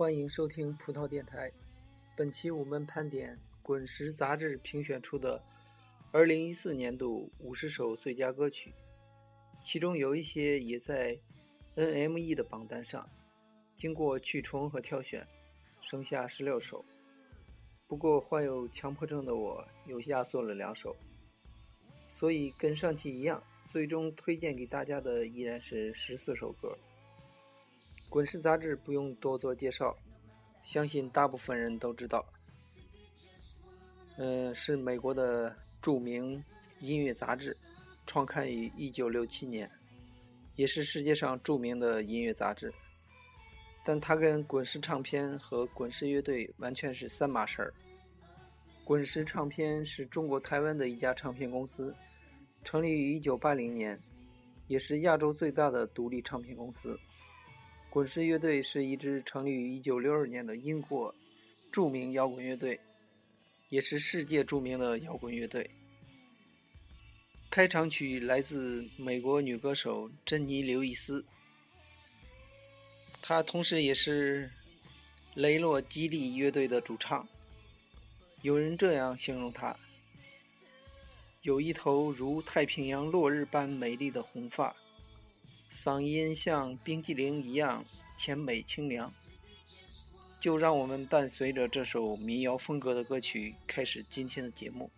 欢迎收听葡萄电台。本期我们盘点滚石杂志评选出的2014年度50首最佳歌曲，其中有一些也在 NME 的榜单上，经过去重和挑选，剩下16首。不过患有强迫症的我又压缩了2首，所以跟上期一样，最终推荐给大家的依然是14首歌。滚石杂志不用多做介绍，相信大部分人都知道，是美国的著名音乐杂志，创刊于1967年，也是世界上著名的音乐杂志。但它跟滚石唱片和滚石乐队完全是3码事儿。滚石唱片是中国台湾的一家唱片公司，成立于1980年，也是亚洲最大的独立唱片公司。滚石乐队是一支成立于1962年的英国著名摇滚乐队，也是世界著名的摇滚乐队。开场曲来自美国女歌手珍妮·刘易斯，她同时也是雷洛基利乐队的主唱。有人这样形容她：有一头如太平洋落日般美丽的红发，嗓音像冰激凌一样甜美清凉。就让我们伴随着这首民谣风格的歌曲开始今天的节目。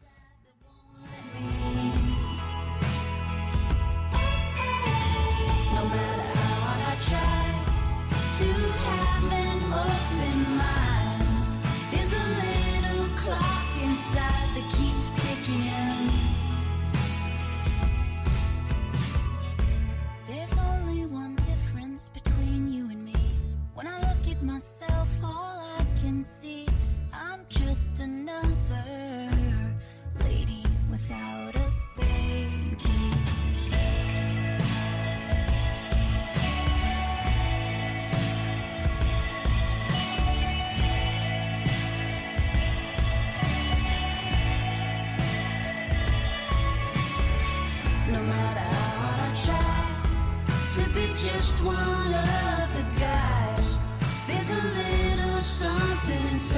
Just one of the guys. There's a little something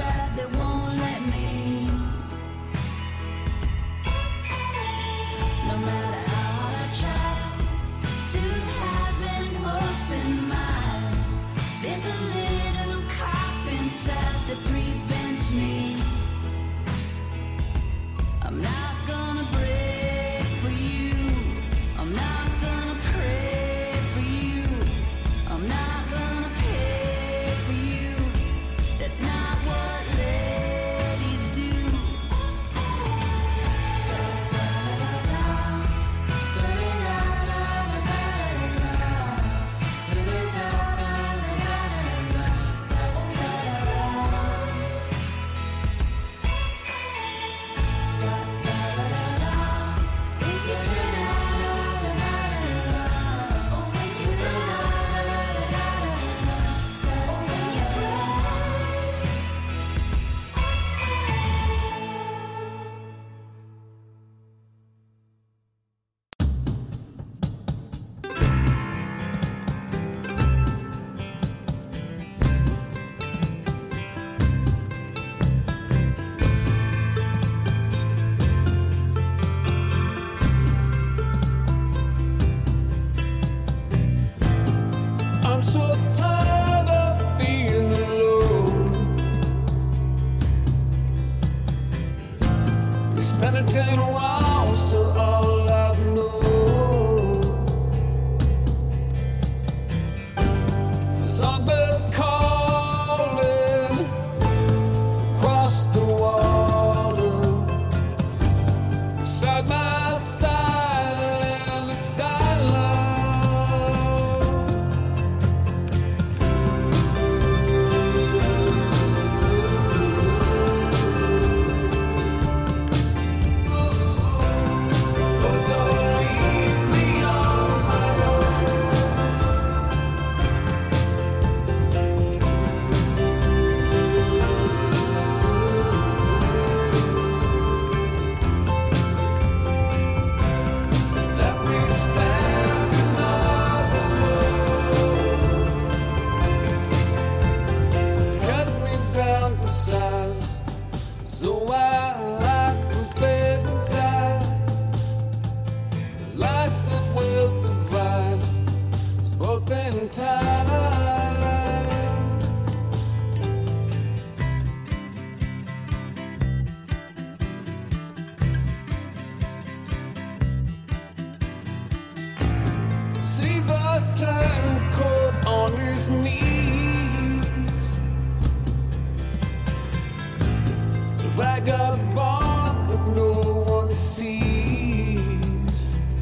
vagabond that no one sees.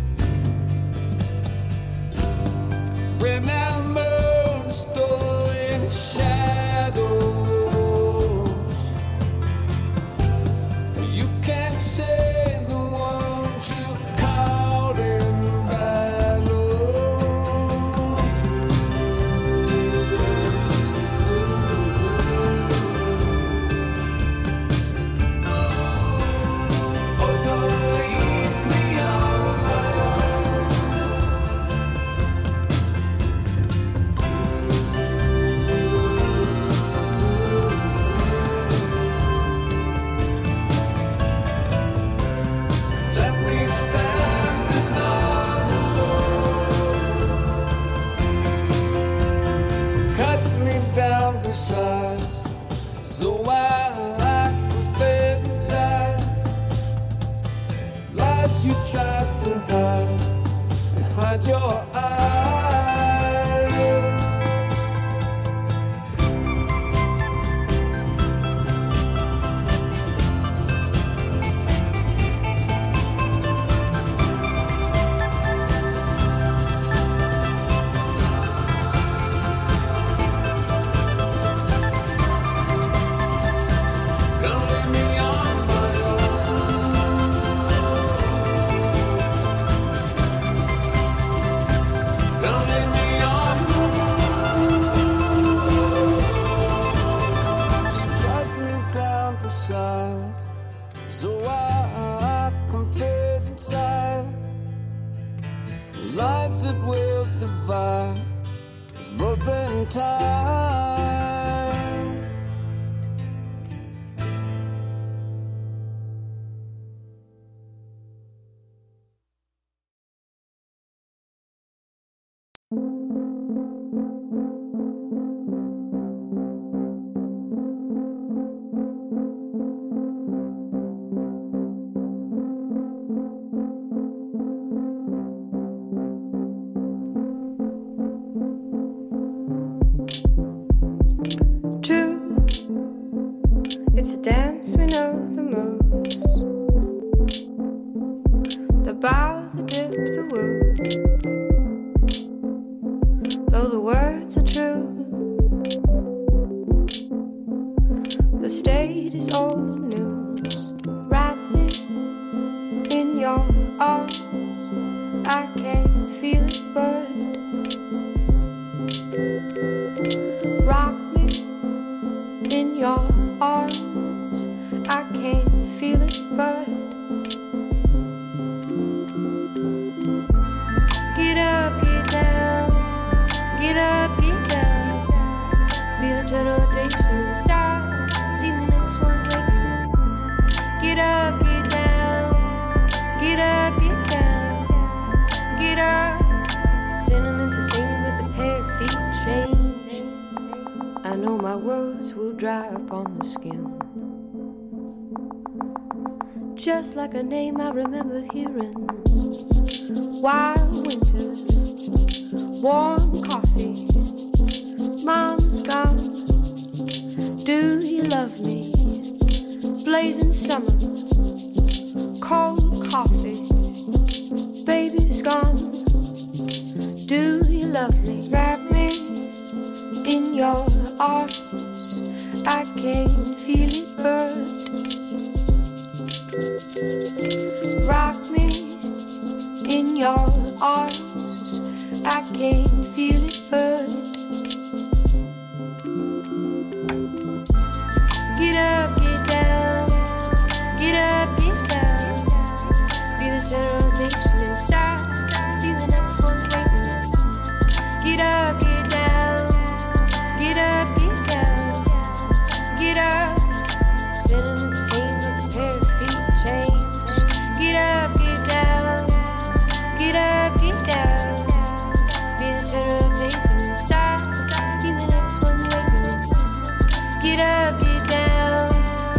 Remember the story in the shadows. You can't say the ones you caught in battle. Oh, don't leave me on my own. Left me standing all alone. Cut me down to size so I can fit inside. Lies you tried to hide behind your eyes. Don't leave me on my own. Don't leave me on my own. So cut me down to size so I can fit inside. The lines that will divide us both in time. True, it's a dance we know the most. The bow, the dip, the woo. Though the words are true, the state is old news. Wrap me in your arms. I can't feel it, but rock me in your arms. I can't feel it, but get up, get down, get up, get down. Feel the turn rotation and start. See the next one waiting. Get up, get down, get up, get down, get up. Sentiments are singing with the pair of feet change. I know my words will dry upon the skin, just like a name I remember hearing. Wild winters, warm coffee, mom's gone. Do you love me? Blazing summer, cold coffee, baby's gone. Do you love me? Wrap me in your arms. I can't feel it, but rock me in your arms. I can't feel it, but get up, get down, get up, get down. Feel the turn rotation and start. See the next one waiting. Get up, get down, get up, get down, get up. Sitting the same with a pair of feet change. Get up, get down, get up, get down. Feel the turn rotation and start. See the next one waiting. Get up, get down,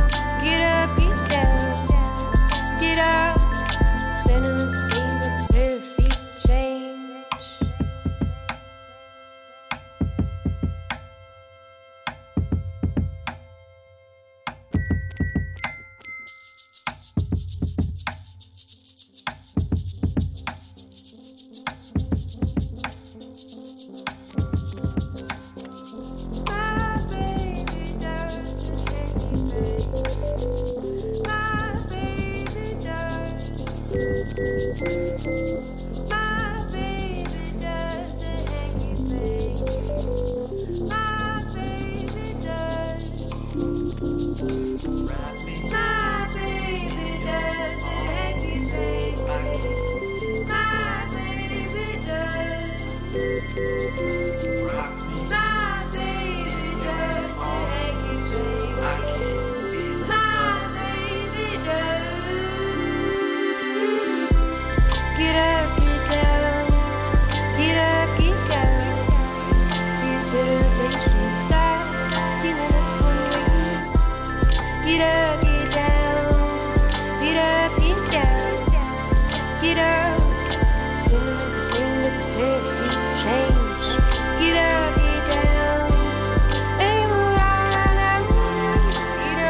Get up, get down. Get up, get down. Get up. Cinnamon to sing with the very feet change. Get up, get down. Hey, move around. Get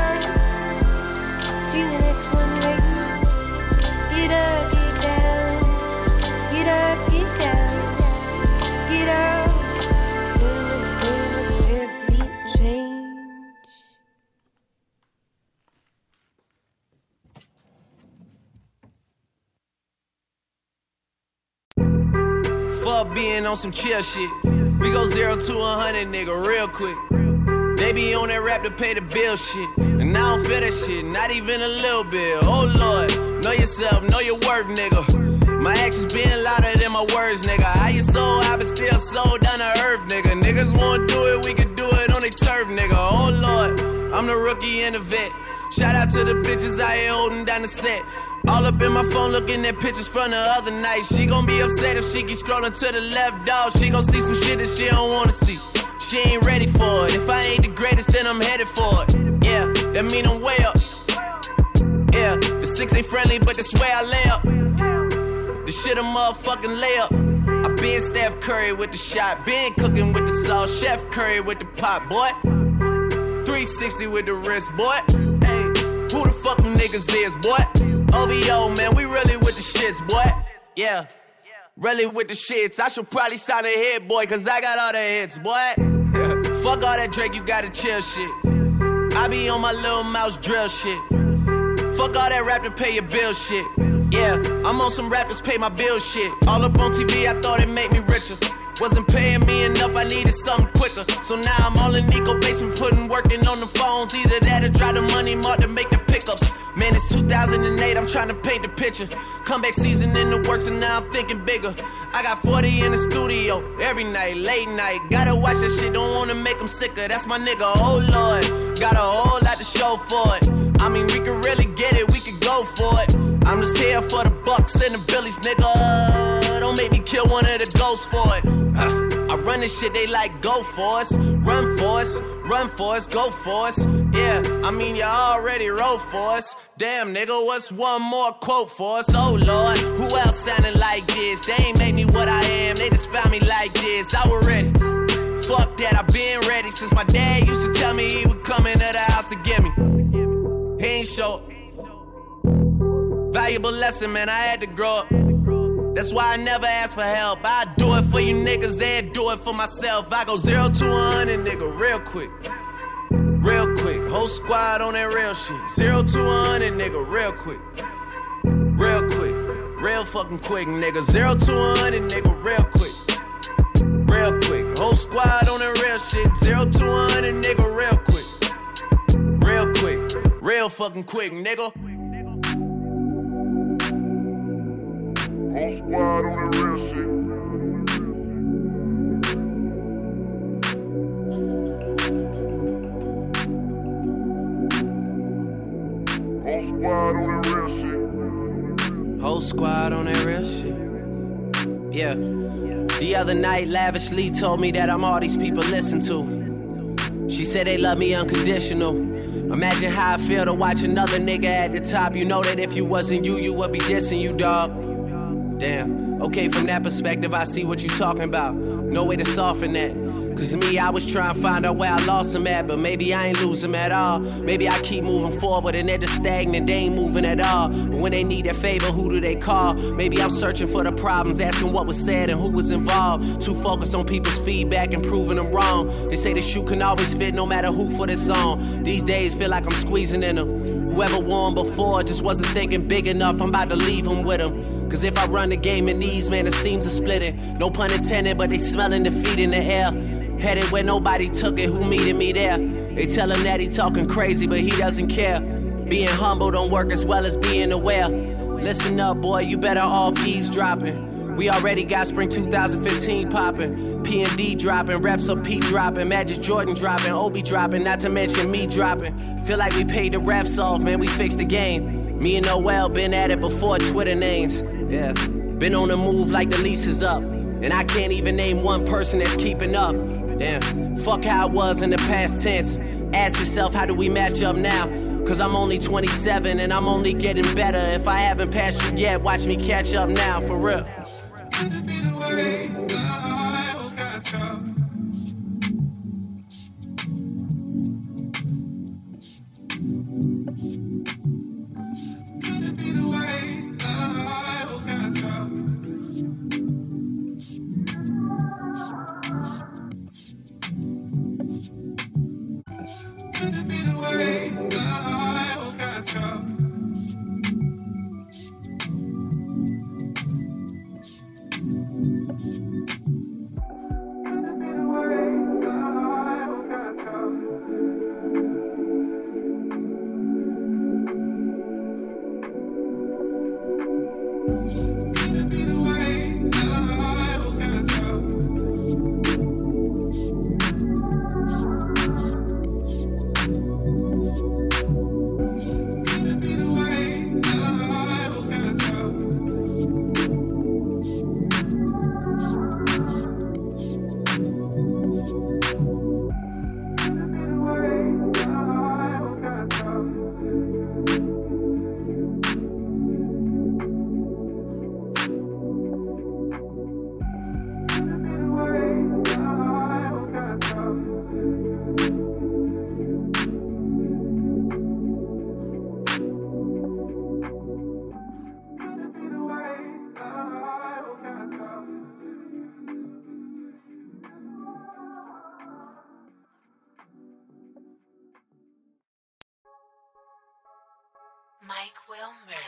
up. See the next one waiting. Get up, get down. Get up, get down. Get up. Cinnamon to sing with the very feet change. Fuck being on some chill shit. We go 0 to 100, nigga, real quick. They be on that rap to pay the bill shit. And I don't feel that shit, not even a little bit. Oh Lord, know yourself, know your worth, nigga. My actions being louder than my words, nigga. How you so high but still so down to earth, nigga. Niggas wanna do it, we can do it on they turf, nigga. Oh Lord, I'm the rookie and the vet. Shout out to the bitches out here holding down the set. All up in my phone looking at pictures from the other night. She gon' be upset if she keep scrolling to the left, dog. She gon' see some shit that she don't wanna see. She ain't ready for it. If I ain't the greatest, then I'm headed for it. Yeah, that mean I'm way up. Yeah, the 6 ain't friendly, but that's where I lay up. The shit a motherfucking layup. I been Steph Curry with the shot. Been cooking with the sauce. Chef Curry with the pot, boy. 360 with the wrist, boy. Hey, who the fuck them niggas is, boy? OVO, man, we really with the shits, boy. Yeah, really with the shits. I should probably sign a hit, boy, cause I got all the hits, boy. Fuck all that Drake, you gotta chill shit. I be on my little mouse drill shit. Fuck all that rap to pay your bill shit. Yeah, I'm on some rappers pay my bill shit. All up on TV, I thought it made me richer. Wasn't paying me enough, I needed something quicker. So now I'm all in Nico basement, working on the phones. Either that or drive the money mark to make the pickups. Man, it's 2008, I'm trying to paint the picture. Comeback season in the works and now I'm thinking bigger. I got 40 in the studio, every night, late night. Gotta watch that shit, don't wanna make them sicker. That's my nigga, oh Lord. Got a whole lot to show for it. I mean, we could really get it, we could go for it. I'm just here for the Bucks and the Billies, nigga. Don't make me kill one of the ghosts for it. I run this shit, they like go for us. Run for us, run for us, go for us. Yeah, I mean you already wrote for us. Damn nigga, what's one more quote for us? Oh Lord, who else sounding like this? They ain't made me what I am, they just found me like this. I was ready, fuck that, I been ready. Since my dad used to tell me he would come into the house to get me. He ain't show up. Valuable lesson, man, I had to grow up. That's why I never ask for help. I do it for you niggas and do it for myself. I go 0 to 100, nigga, real quick. Real quick, whole squad on that real shit. 0 to 100, nigga, real quick. Real quick, real fucking quick, nigga. 0 to 100, nigga, real quick. Real quick, whole squad on that real shit. 0 to 100, nigga, real quick. Real quick, real fucking quick, nigga. Whole squad on that real shit. Whole squad on that real shit. Yeah. The other night, Lavishly told me that I'm all these people listen to. She said they love me unconditional. Imagine how I feel to watch another nigga at the top. You know that if you wasn't you, you would be dissing you, dog. Damn. Okay, from that perspective, I see what you talking about. No way to soften that. Cause me, I was trying to find out where I lost them at, but maybe I ain't lose them at all. Maybe I keep moving forward and they're just stagnant, they ain't moving at all. But when they need a favor, who do they call? Maybe I'm searching for the problems, asking what was said and who was involved. Too focused on people's feedback and proving them wrong. They say the shoe can always fit no matter who for the song. These days feel like I'm squeezing in them. Whoever won before just wasn't thinking big enough, I'm about to leave them with them. Cause if I run the game in these, man, the seams are splitting. No pun intended, but they smelling defeat in the air. Headed where nobody took it, who meeting me there? They tell him that he talking crazy, but he doesn't care. Being humble don't work as well as being aware. Listen up, boy, you better off eavesdropping. We already got spring 2015 popping. P&D dropping, reps up P dropping, Magic Jordan dropping, Obi dropping, not to mention me dropping. Feel like we paid the refs off, man, we fixed the game. Me and Noel been at it before Twitter names. Yeah, been on the move like the lease is up. And I can't even name one person that's keeping up. Damn, fuck how it was in the past tense. Ask yourself, how do we match up now? Cause I'm only 27 and I'm only getting better. If I haven't passed you yet, watch me catch up now, for real. Could it be the way I will catch up? Could it be the way I will catch up? Could it be the way I will catch up? Mike Wilmer.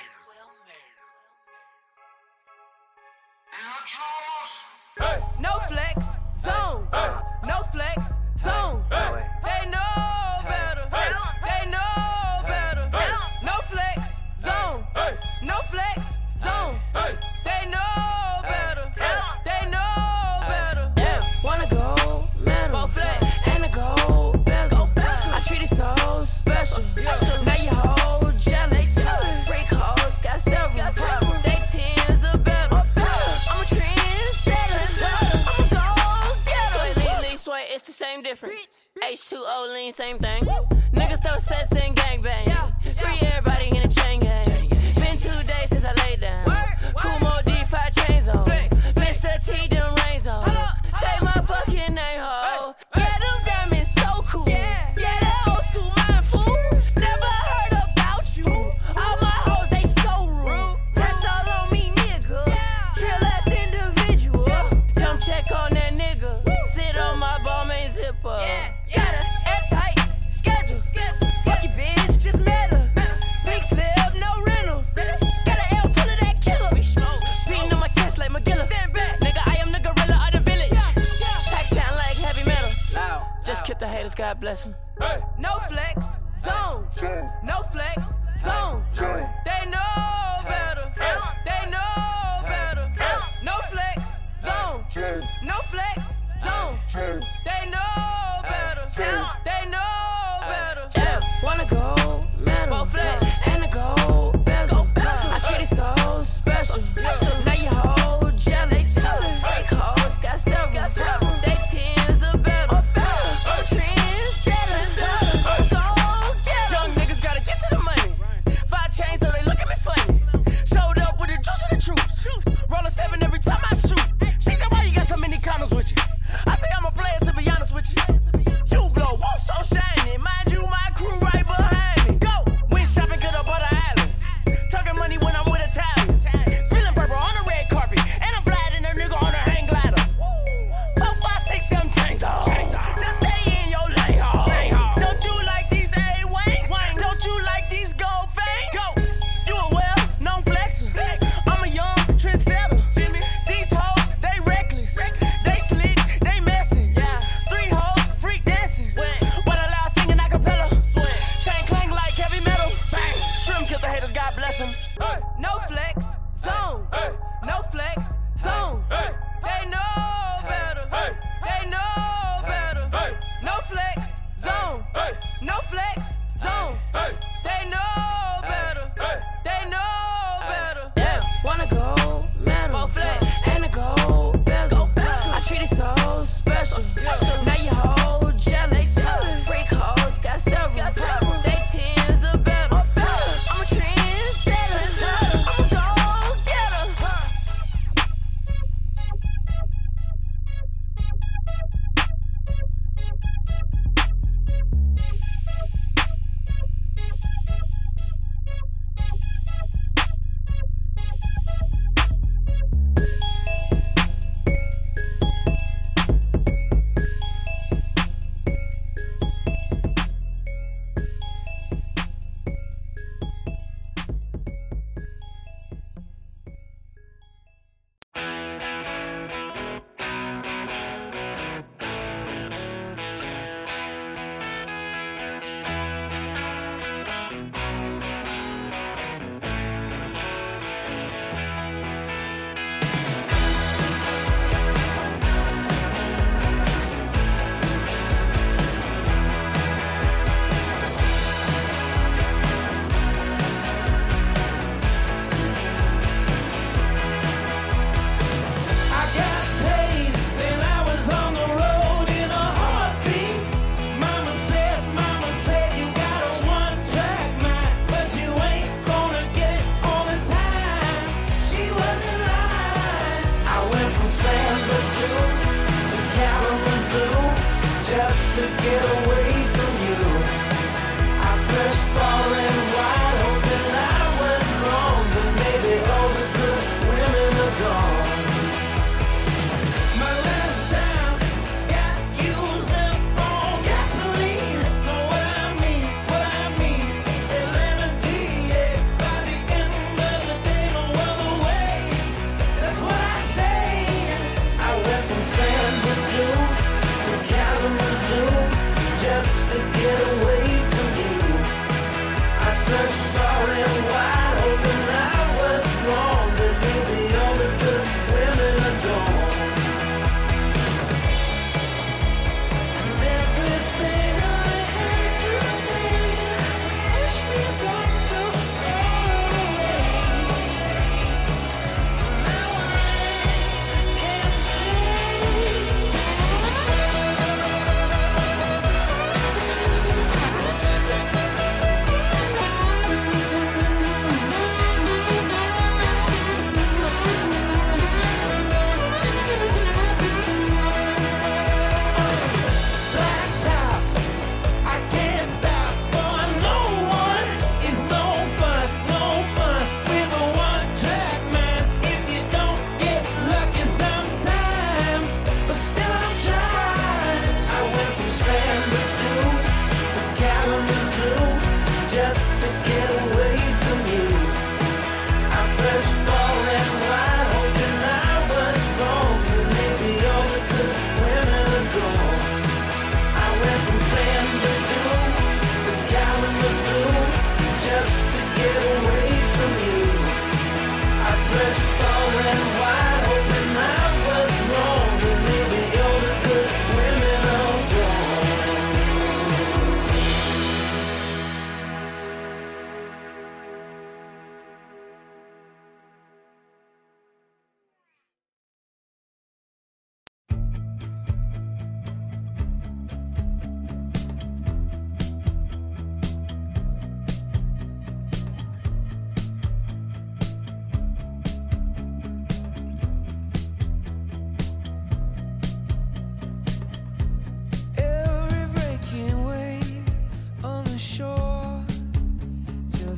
No flex, zone. No flex, zone. They know better. They know better. No flex, zone. No flex, zone. They know better. They know better. Wanna go metal, Go flex. and a gold bezel. I treat it so special. Now you hold jealous. Freak hoes got several. They tens are better. I'm a trendsetter. I'm a gold getter. Sway, lean, sway, it's the same difference. H2O, lean, same thing. Niggas throw sets and gangbang. Free everybody in a chain gang. Been 2 days since I laid down. Kumo D5 chains on. Mr. T, them rains on. Say my fucking name, ho. Yeah, them diamonds so cool. Yeah, that old school mind fool. Never heard about you. All my hoes, they so rude. Test all on me, nigga. Drill ass individual. Come check on that nigga. Sit on my ball, main zipper. Got a airtight schedule. Fuck your bitch, just met her. Big slip, no rental. Got an L full of that killer. Beating on my chest like McGilla. Nigga, I am the gorilla of the village. Pack sound like heavy metal. Just kill the haters, God bless them. No flex, zone. No flex, zone. They know better. They know better. No flex, zone. No flex, zone. They know better. They know better. Wanna go metal, Go flex. and a gold bezel. I treat it so special. Now you hold jealous. Freak hoes got several. They tens are better. I'm a trendsetter. I'm a gold getter. Young niggas gotta get to the money.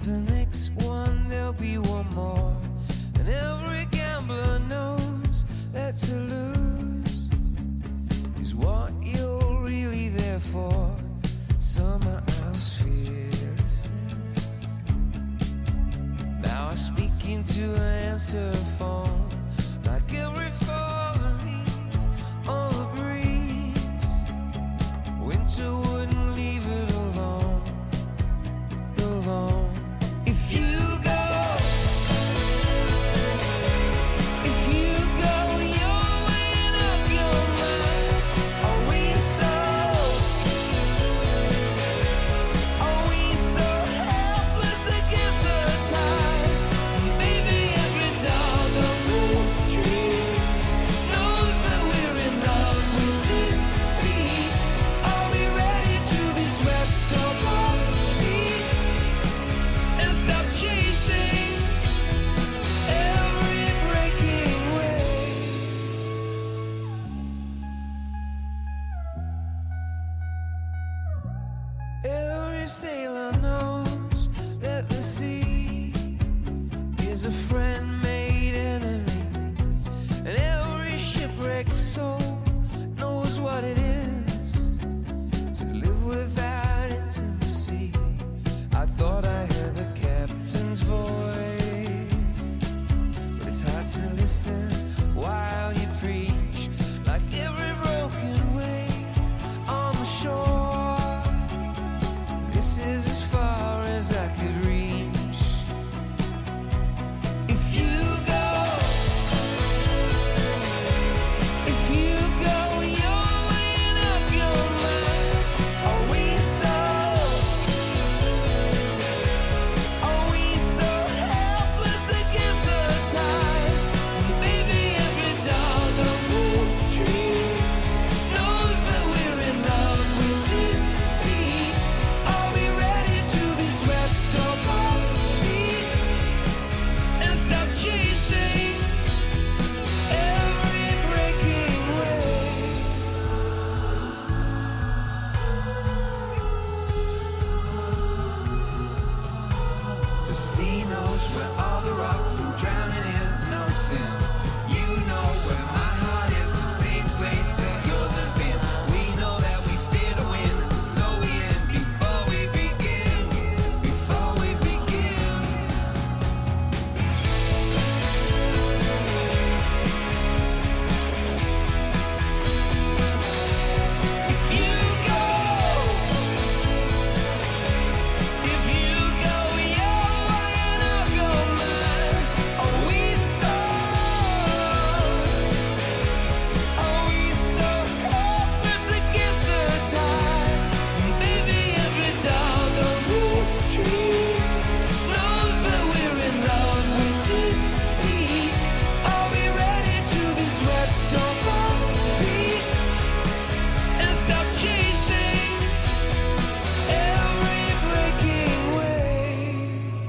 With the next one, there'll be one more. And every gambler knows that to lose is what you're really there for. Summer house fearlessness. Now I speak into an answer phone, like every fallen leaf on the breeze. Winter wouldn't leave it alone, alone. If you go, you're weighing up your mind. Are we so helpless against the tide? Baby, every dog on the street knows that we're in love with defeat. Are we ready to be swept off our feet and stop chasing every breaking wave? Every sailor knows that the sea is a friend made enemy, and every shipwrecked soul knows what it is to live without intimacy. I thought I heard the captain's voice, but it's hard to listen while you preach, like every broken wave on the shore. This is as far as I could reach. If you go, you're weighing up your mind. Are we so helpless against the tide? Baby, every dog on the street knows that we're in love with defeat. Are we ready to be swept off our feet and stop chasing every breaking wave? The sea knows where all the rocks and drowning is no sin. You know where my heart is, the same place that yours has been. We know that we fear to win, and so we end before we begin. Before we begin. If you go, you're weighing up your mind. Are we so helpless against the tide? Baby, every dog on the street knows that we're in love with defeat. Are we ready to be swept off our feet and stop chasing every breaking wave?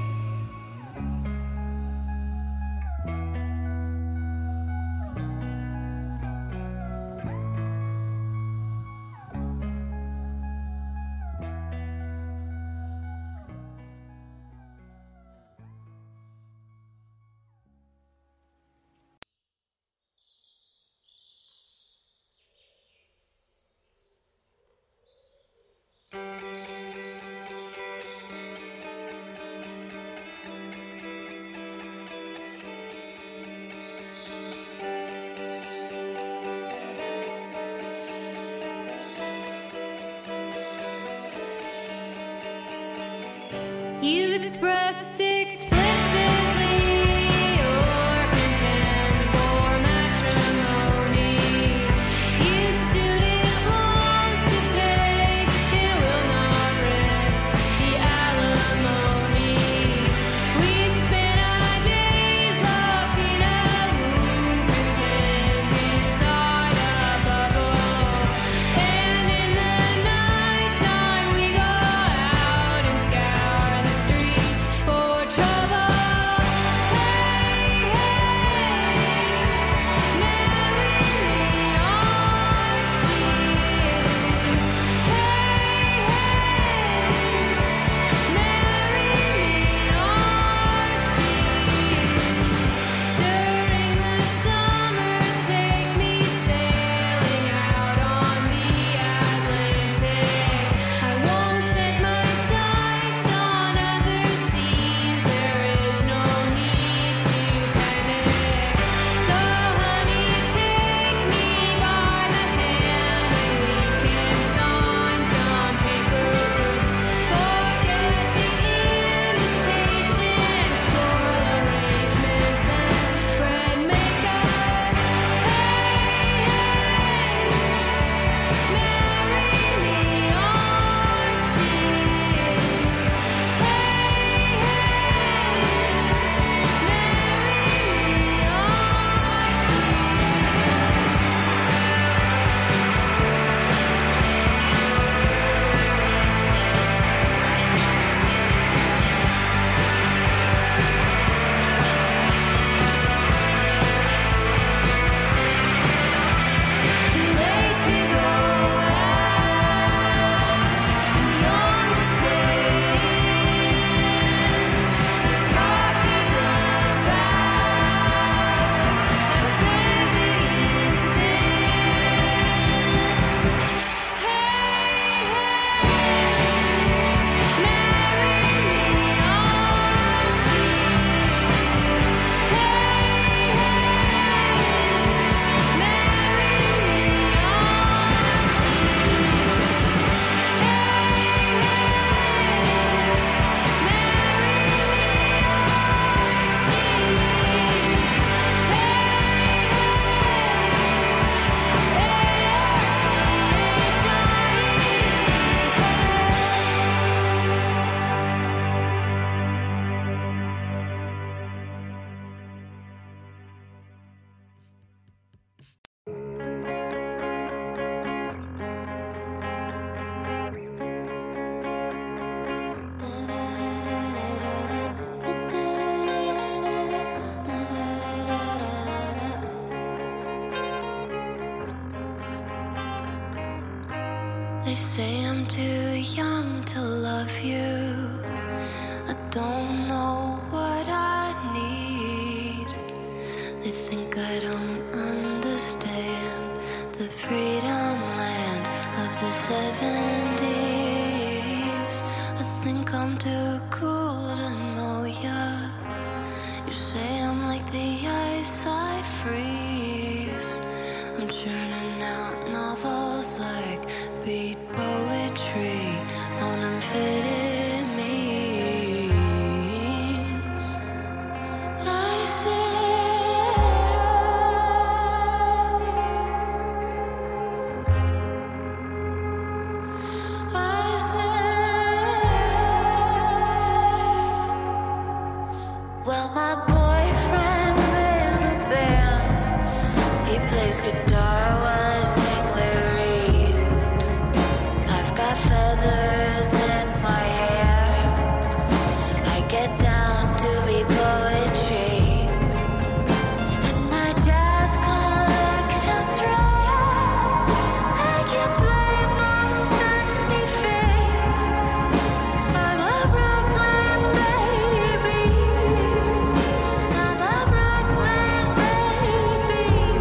You expressed explicitly your contempt for matrimony. You student loans to pay and will not risk the alimony. We spent our days locked in a room, pretend inside a bubble. And in the nighttime we go out and scour the streets for say I'm too young to love you. I don't know what I need. They think I don't understand the freedom land of the 70s. I think I'm too cool to know ya. You say I'm like the ice I freeze. I'm churning out novels like beat poetry on amphetamines. I say well, my boyfriend's in a band. He plays guitar while I sing lyric. I've got feathers in my hair. I get down to be poetry. And my jazz collection's rare. I can play most anything. I'm a Brooklyn baby. I'm a Brooklyn baby.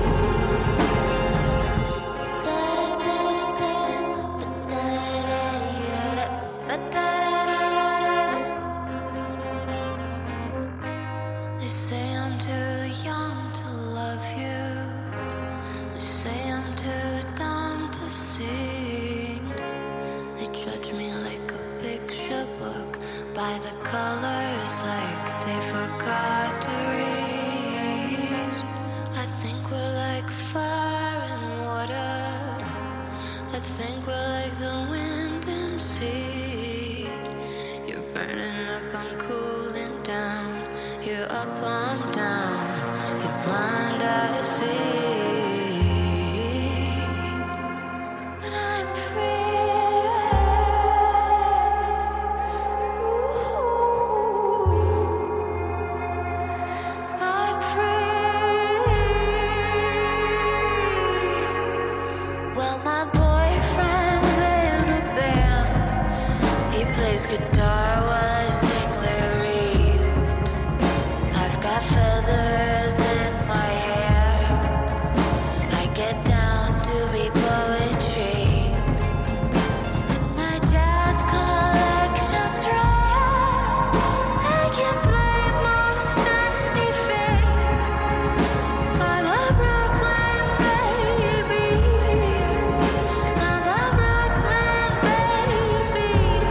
They say I'm too young to love you. They say I'm too dumb to sing. They judge me like a picture book by the colors, like they forgot to read. I think we're like fire and water. I think we're like the wind and sea. You're burning up, I'm cooling down. You're up, I'm down. You're blind, I see. And I'm free. Ooh. I'm free. Well, my boyfriend's in a band. He plays guitar while I sing lyric. I've got feathers in my hair. I get down to be poetry. And my jazz collection's rare. I can play most anything. I'm a Brooklyn baby. I'm a Brooklyn baby.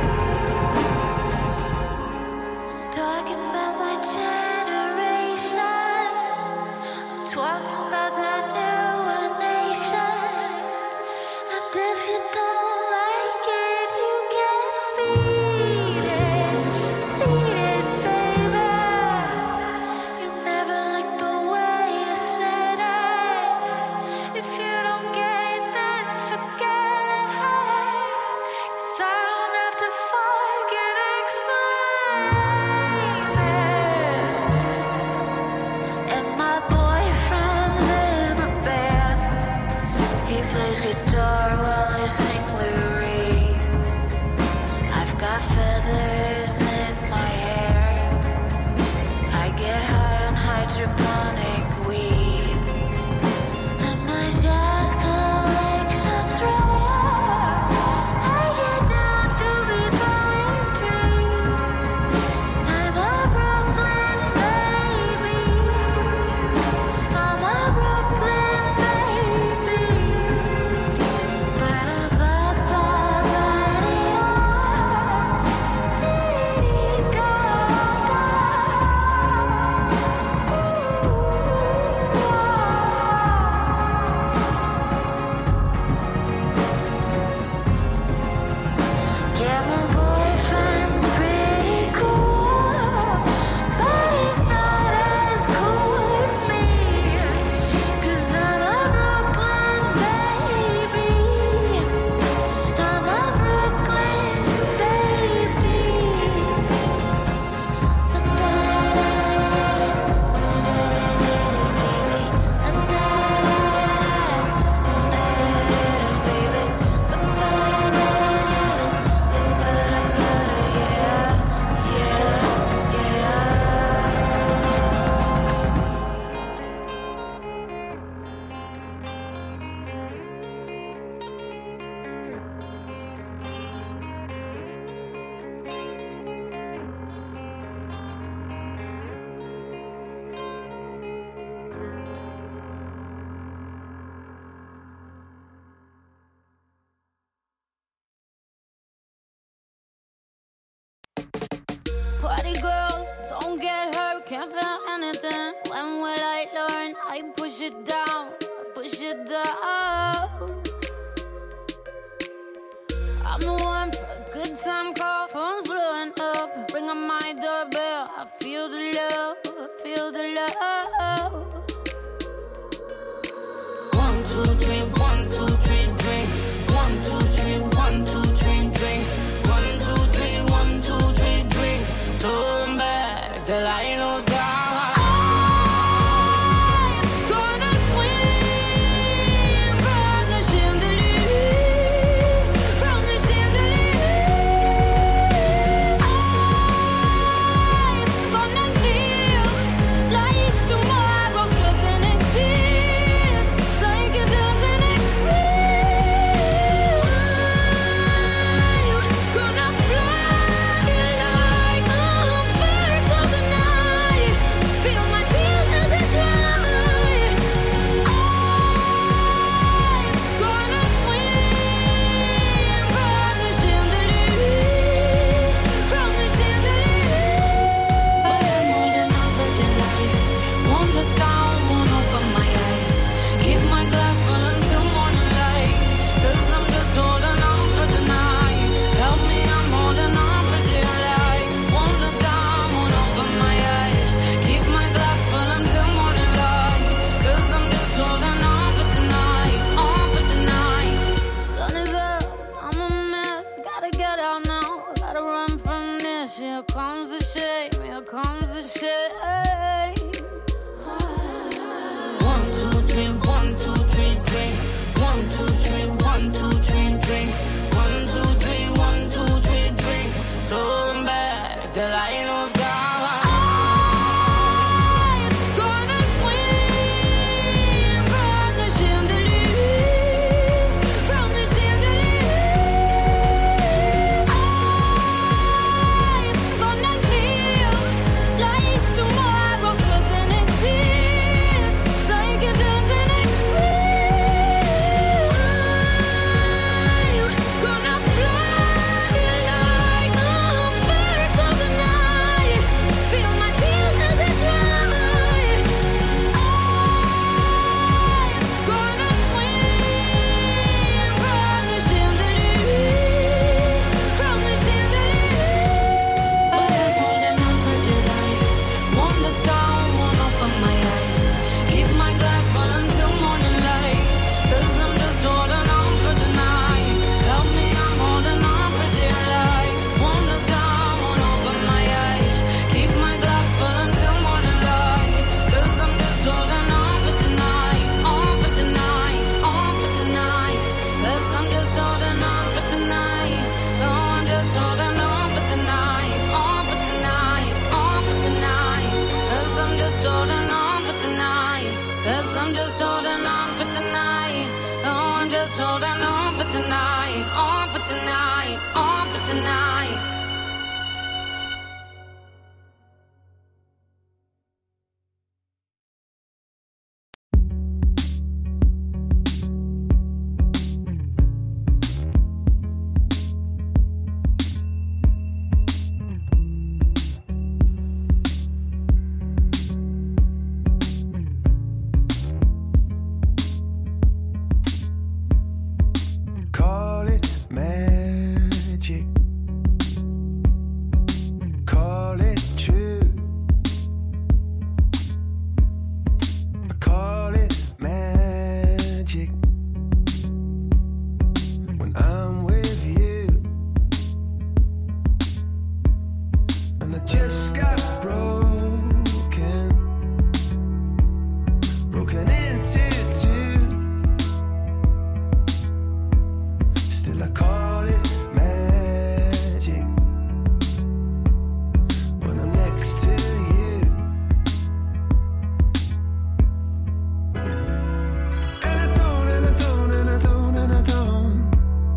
I'm talking about my generation. I'm talking about that newer nation. And if you don't like it, you can beat it, baby. You never liked the way I said it. If you don't get it, then forget it. 'Cause I don't have to fucking explain it. Party girls, don't get hurt, can't feel anything. When will I learn? I push it down, push it down. I'm the one for a good time call, phone's blowing up. Ring on my doorbell, I feel the love, I feel the love. 1, 2, 3, 1, 2, 3, drink. 1, 2, 3, 1, 2, 3, drink. 1, 2, 3, 1, 2, 3, drink. Turn back till I lose God.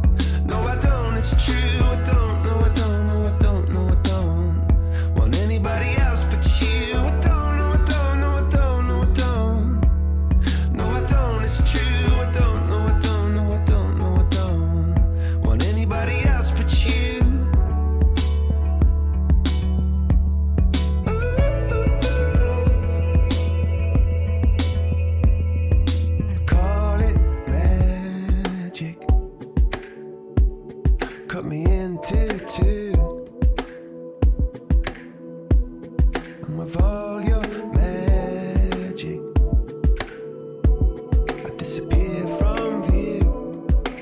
It's true, I don't know, I don't know, I don't know, I don't want anybody And with all your magic, I disappear from view.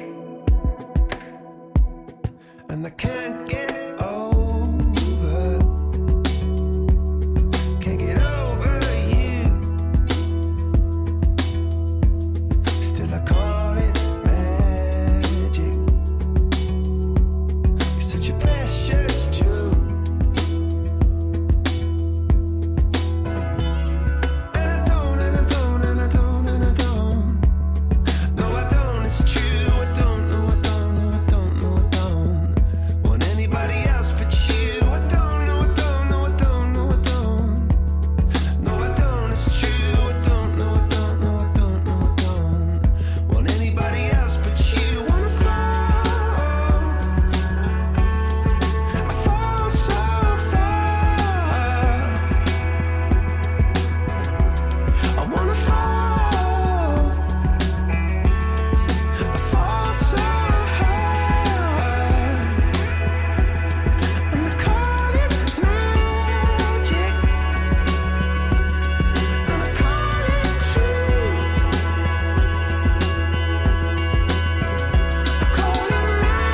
And I can't get over, can't get over you. Still I call it magic. You're such a precious jewel. And I don't, and I don't, and I don't, and I don't. No, I don't, it's true. I don't, no, I don't, no, I don't, no, I don't want anybody else but you. I don't, no, I don't, no, I don't, no, I don't. No, I don't, it's true. I don't, no, I don't, no, I don't, no, I don't want anybody else but you. Wanna fall, I fall so far. I wanna fall, I fall so hard. And I call it magic, and I call it true. I call it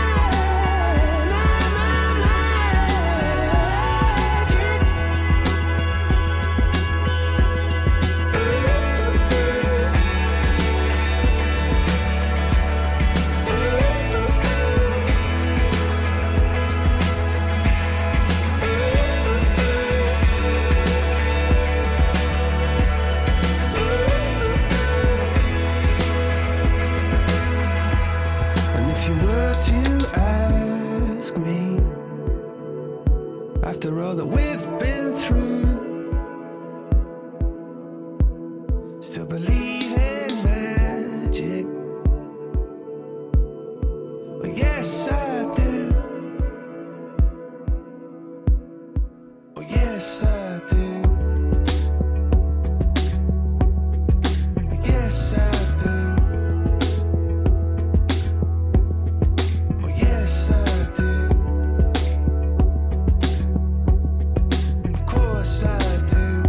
And if you were to ask me, after all that we've been through, still believe in magic? Well, yes, I do. Oh, yes, I do. Yes, I do. Oh, yes, I do. Of course I do.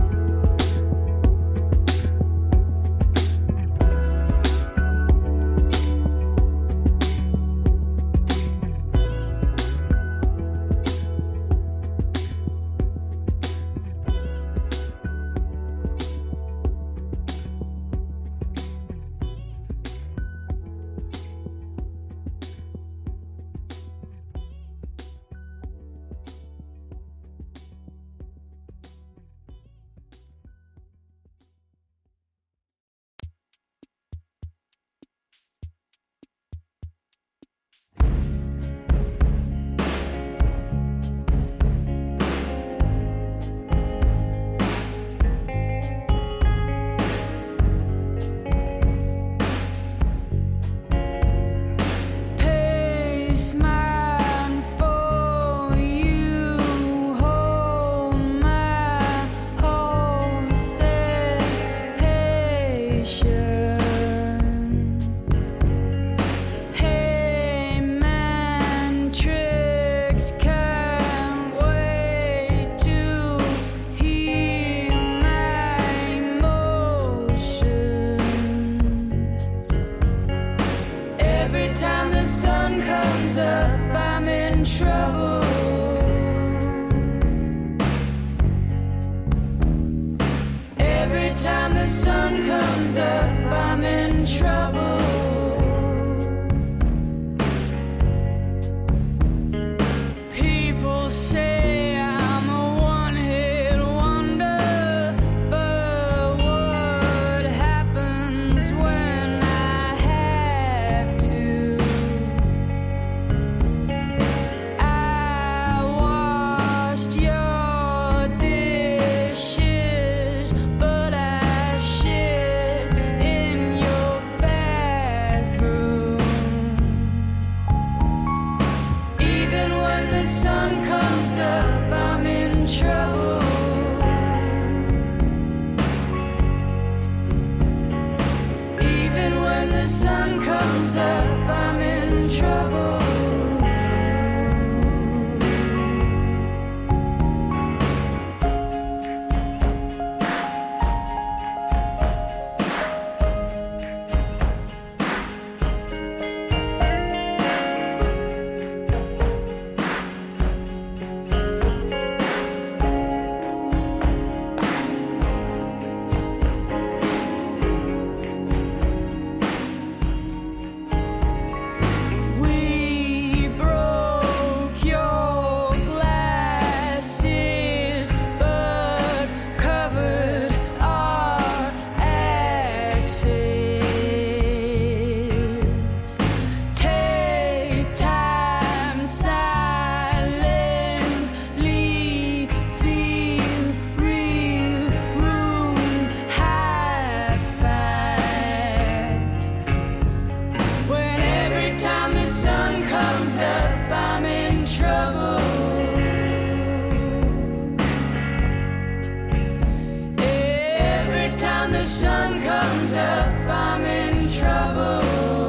the sun comes up, I'm in trouble.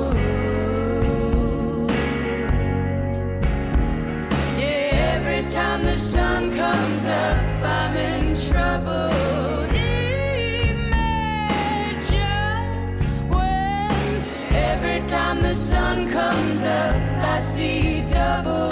Yeah, every time the sun comes up, I'm in trouble. Imagine when every time the sun comes up, I see double.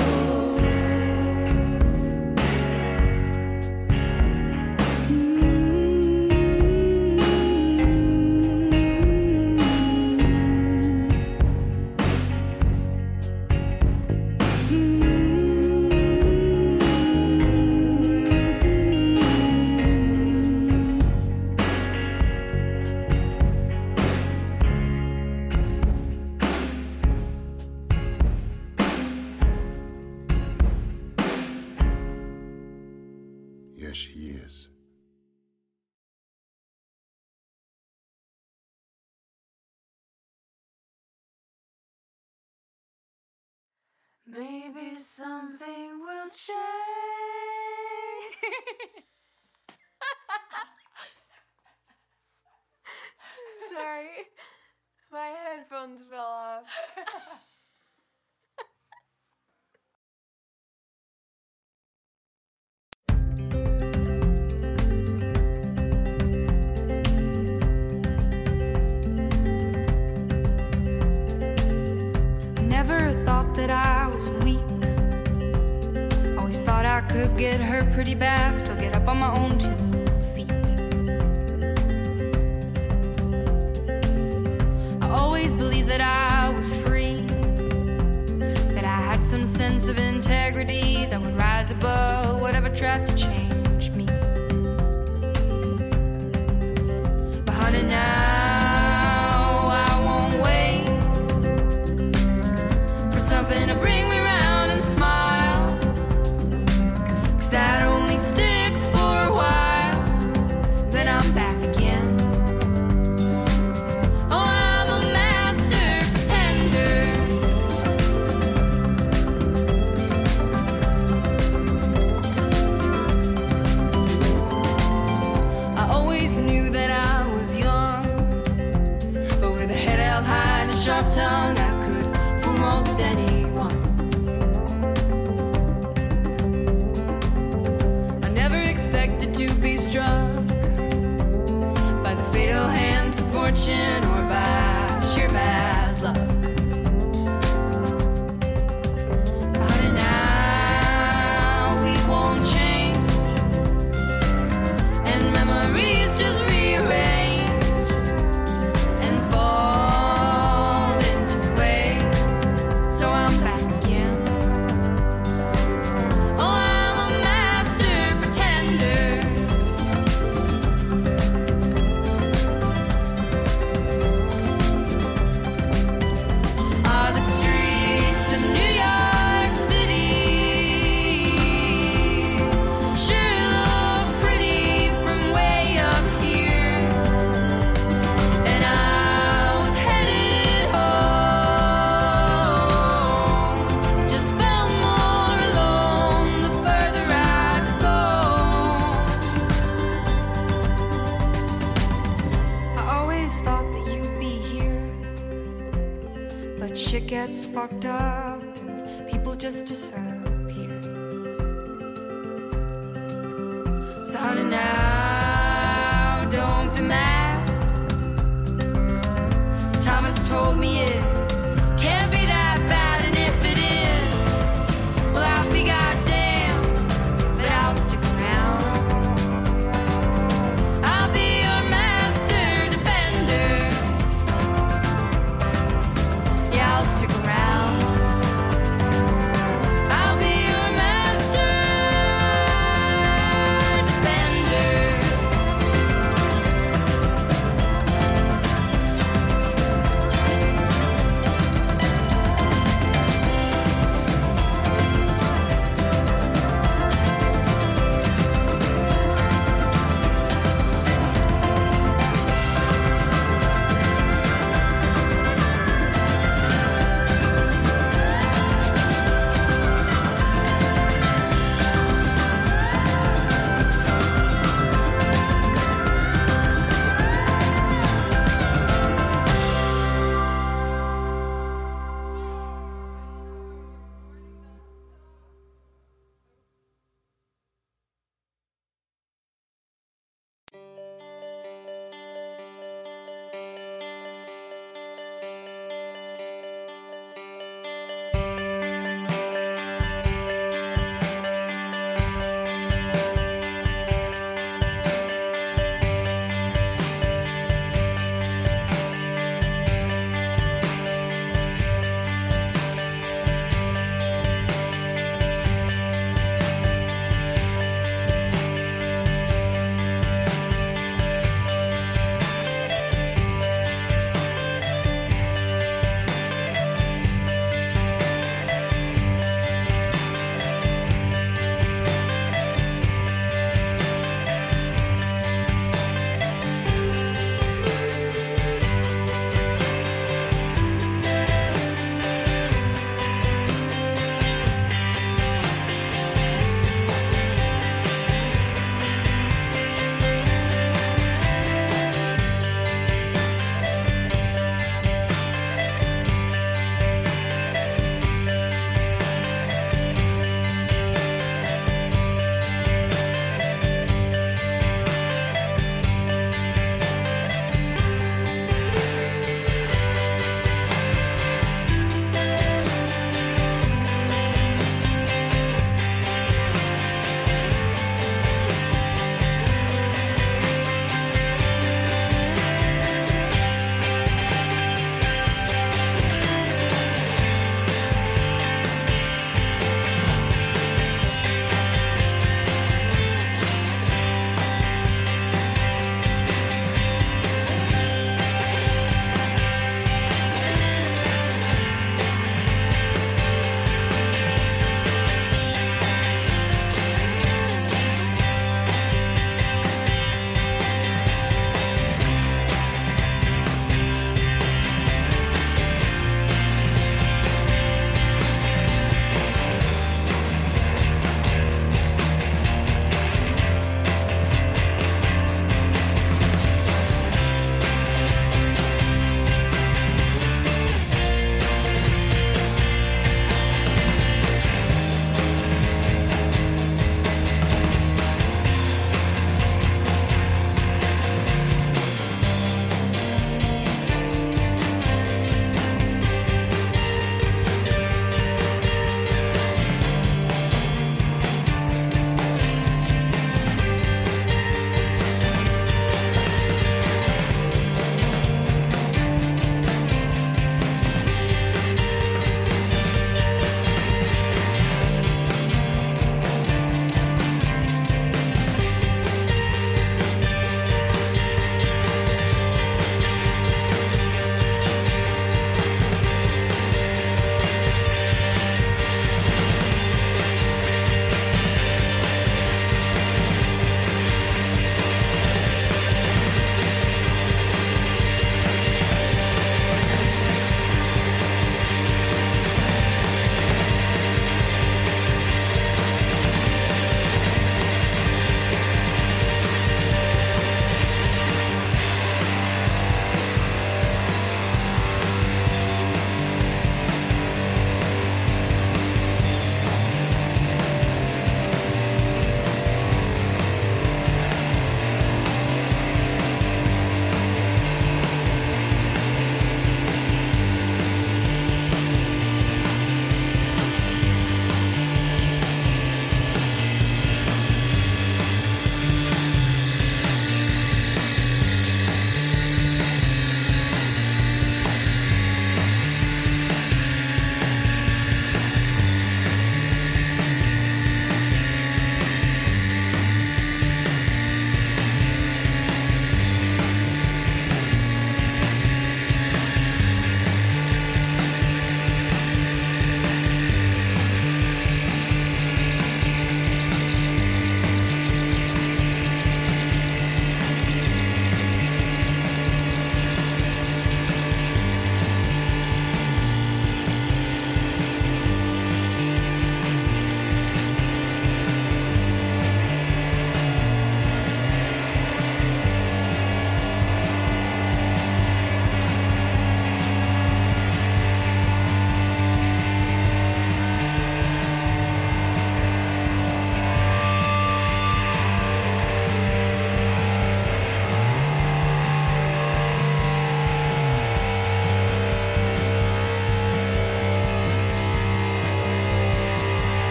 Yes, she is. Maybe something will change. Sorry, my headphones fell off. Never thought that I was weak. Always thought I could get hurt pretty bad, still get up on my own 2 feet. I always believed that I was free, that I had some sense of integrity that would rise above whatever tried to change me. But honey, now I won't wait for something to bring me round and smile, 'cause that only sticks for a while, then I'm back again. Oh, I'm a master pretender. I always knew that I was young, but with a head held high and a sharp tongue, I could fool most anyone. I never expected to be struck by the fatal hands of fortune or by sheer bad luck. But now we won't change, and memories just rearrange and fall into place. So I'm back again. Oh, I'm a master pretender. Are the streets of New York City sure look pretty from way up here? And I was headed home, just felt more alone the further I'd go. I always thought that you'd be here, but shit gets fucked up and people just disappear. So honey, now don't be mad. Thomas told me